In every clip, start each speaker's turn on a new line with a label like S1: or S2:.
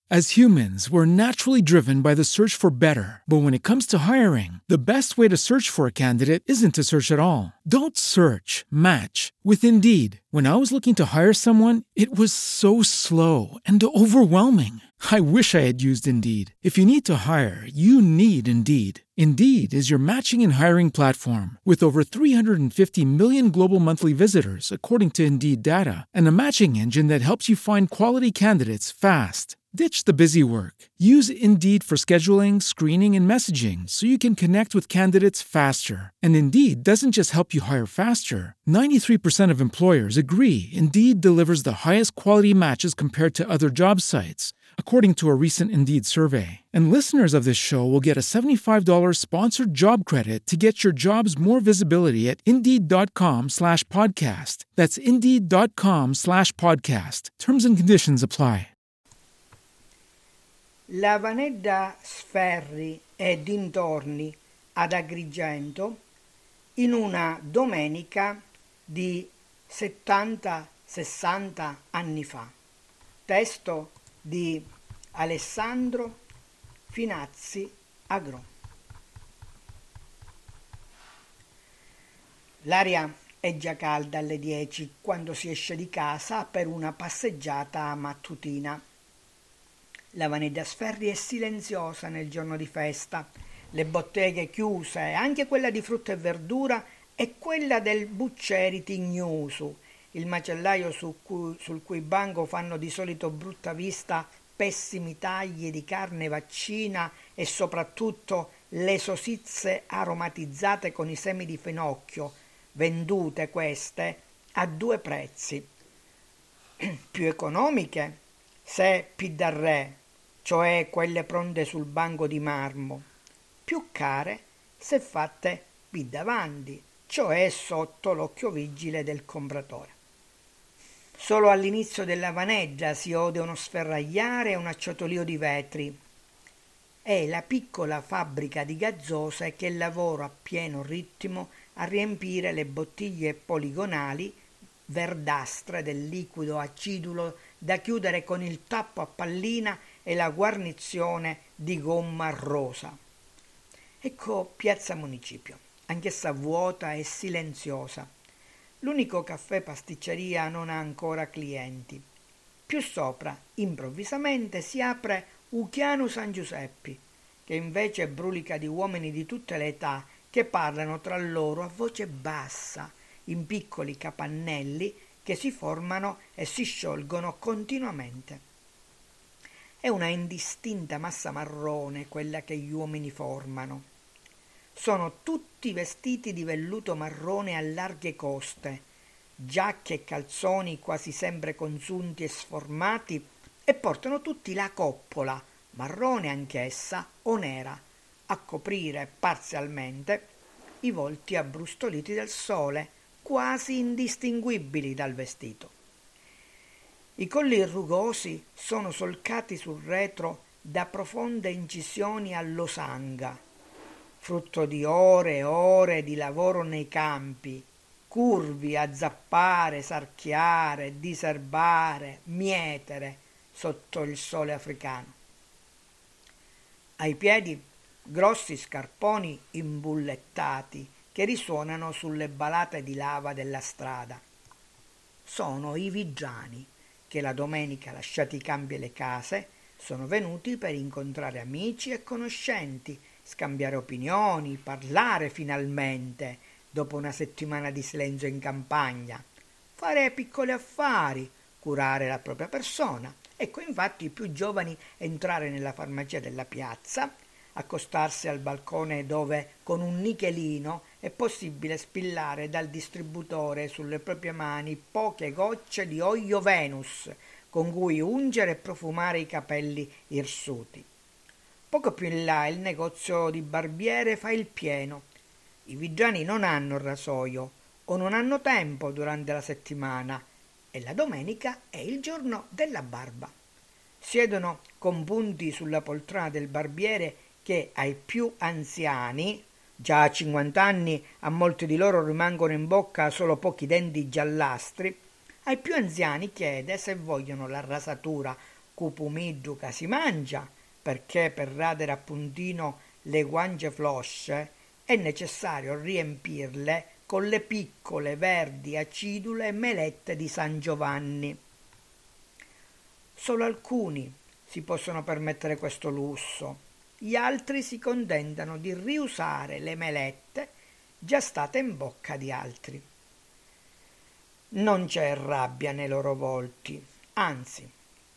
S1: As humans, we're naturally driven by the search for better. But when it comes to hiring, the best way to search for a candidate isn't to search at all. Don't search, match with Indeed. When I was looking to hire someone, it was so slow and overwhelming. I wish I had used Indeed. If you need to hire, you need Indeed. Indeed is your matching and hiring platform with over 350 million global monthly visitors, according to Indeed data, and a matching engine that helps you find quality candidates fast. Ditch the busy work. Use Indeed for scheduling, screening, and messaging so you can connect with candidates faster. And Indeed doesn't just help you hire faster. 93% of employers agree Indeed delivers the highest quality matches compared to other job sites, according to a recent Indeed survey. And listeners of this show will get a $75 sponsored job credit to get your jobs more visibility at Indeed.com/podcast. That's Indeed.com/podcast. Terms and conditions apply.
S2: La Vanedda Sferri e dintorni ad Agrigento in una domenica di 70-60 anni fa. Testo di Alessandro Finazzi Agro. L'aria è già calda alle 10 quando si esce di casa per una passeggiata mattutina. La Vanedda Sferri è silenziosa nel giorno di festa, le botteghe chiuse, anche quella di frutta e verdura e quella del Buccieri Tignusu, il macellaio sul cui banco fanno di solito brutta vista pessimi tagli di carne vaccina e soprattutto le sosizze aromatizzate con i semi di finocchio, vendute queste a 2 prezzi. Più economiche se Pidarre, cioè quelle pronte sul banco di marmo, più care se fatte davanti, cioè sotto l'occhio vigile del compratore. Solo all'inizio della Vaneggia si ode uno sferragliare e un acciotolio di vetri. È la piccola fabbrica di gazzose che lavora a pieno ritmo a riempire le bottiglie poligonali verdastre del liquido acidulo da chiudere con il tappo a pallina e la guarnizione di gomma rosa. Ecco Piazza Municipio, anch'essa vuota e silenziosa. L'unico caffè pasticceria non ha ancora clienti. Più sopra, improvvisamente, si apre Uchiano San Giuseppi, che invece brulica di uomini di tutte le età che parlano tra loro a voce bassa, in piccoli capannelli che si formano e si sciolgono continuamente. È una indistinta massa marrone quella che gli uomini formano. Sono tutti vestiti di velluto marrone a larghe coste, giacche e calzoni quasi sempre consunti e sformati, e portano tutti la coppola, marrone anch'essa o nera, a coprire parzialmente i volti abbrustoliti del sole, quasi indistinguibili dal vestito. I colli rugosi sono solcati sul retro da profonde incisioni a losanga, frutto di ore e ore di lavoro nei campi, curvi a zappare, sarchiare, diserbare, mietere sotto il sole africano. Ai piedi grossi scarponi imbullettati che risuonano sulle balate di lava della strada. Sono i vigiani che la domenica, lasciati i campi e le case, sono venuti per incontrare amici e conoscenti, scambiare opinioni, parlare finalmente, dopo una settimana di silenzio in campagna, fare piccoli affari, curare la propria persona. Ecco infatti i più giovani entrare nella farmacia della piazza, accostarsi al balcone dove con un nichelino è possibile spillare dal distributore sulle proprie mani poche gocce di olio Venus con cui ungere e profumare i capelli irsuti. Poco più in là il negozio di barbiere fa il pieno. I vigiani non hanno rasoio o non hanno tempo durante la settimana e la domenica è il giorno della barba. Siedono compunti sulla poltrona del barbiere che ai più anziani, già a 50 anni a molti di loro rimangono in bocca solo pochi denti giallastri, ai più anziani chiede se vogliono la rasatura cupumiddu che si mangia, perché per radere appuntino le guance flosce è necessario riempirle con le piccole verdi acidule melette di San Giovanni. Solo alcuni si possono permettere questo lusso, gli altri si contentano di riusare le melette già state in bocca di altri. Non c'è rabbia nei loro volti, anzi,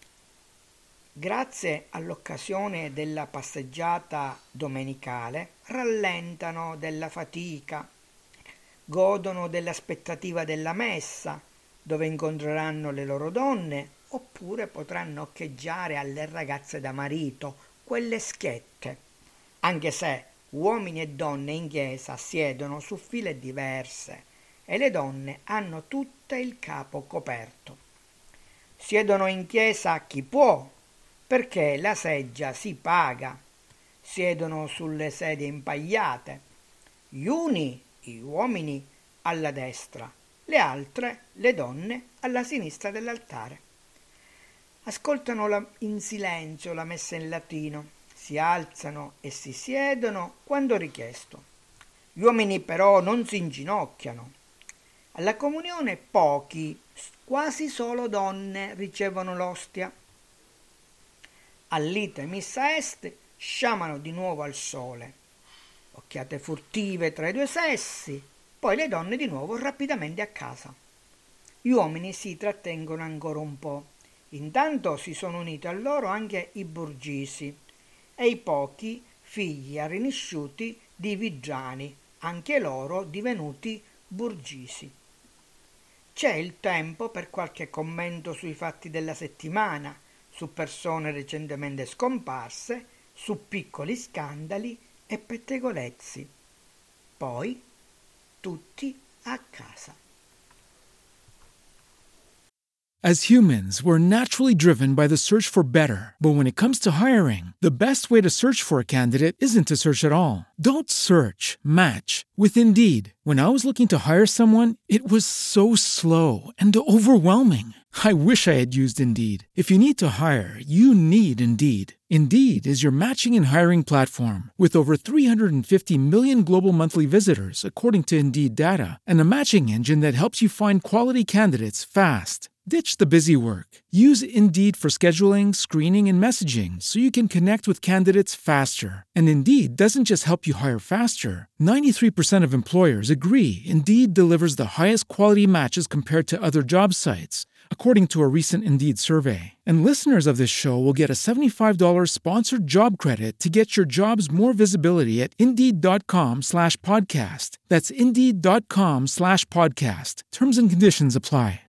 S2: grazie all'occasione della passeggiata domenicale, rallentano della fatica, godono dell'aspettativa della messa, dove incontreranno le loro donne, oppure potranno occheggiare alle ragazze da marito, quelle schiette, anche se uomini e donne in chiesa siedono su file diverse e le donne hanno tutte il capo coperto. Siedono in chiesa chi può, perché la seggia si paga. Siedono sulle sedie impagliate. Gli uni, gli uomini, alla destra, le altre, le donne, alla sinistra dell'altare. Ascoltano in silenzio la messa in latino, si alzano e si siedono quando richiesto. Gli uomini però non si inginocchiano. Alla comunione pochi, quasi solo donne, ricevono l'ostia. All'ite missa est sciamano di nuovo al sole. Occhiate furtive tra i due sessi, poi le donne di nuovo rapidamente a casa. Gli uomini si trattengono ancora un po'. Intanto si sono uniti a loro anche i Burgisi e i pochi figli arrinisciuti di Vigiani, anche loro divenuti Burgisi. C'è il tempo per qualche commento sui fatti della settimana, su persone recentemente scomparse, su piccoli scandali e pettegolezzi. Poi tutti a casa.
S1: As humans, we're naturally driven by the search for better. But when it comes to hiring, the best way to search for a candidate isn't to search at all. Don't search, match with Indeed. When I was looking to hire someone, it was so slow and overwhelming. I wish I had used Indeed. If you need to hire, you need Indeed. Indeed is your matching and hiring platform with over 350 million global monthly visitors, according to Indeed data, and a matching engine that helps you find quality candidates fast. Ditch the busy work. Use Indeed for scheduling, screening, and messaging so you can connect with candidates faster. And Indeed doesn't just help you hire faster. 93% of employers agree Indeed delivers the highest quality matches compared to other job sites, according to a recent Indeed survey. And listeners of this show will get a $75 sponsored job credit to get your jobs more visibility at Indeed.com/podcast. That's Indeed.com/podcast. Terms and conditions apply.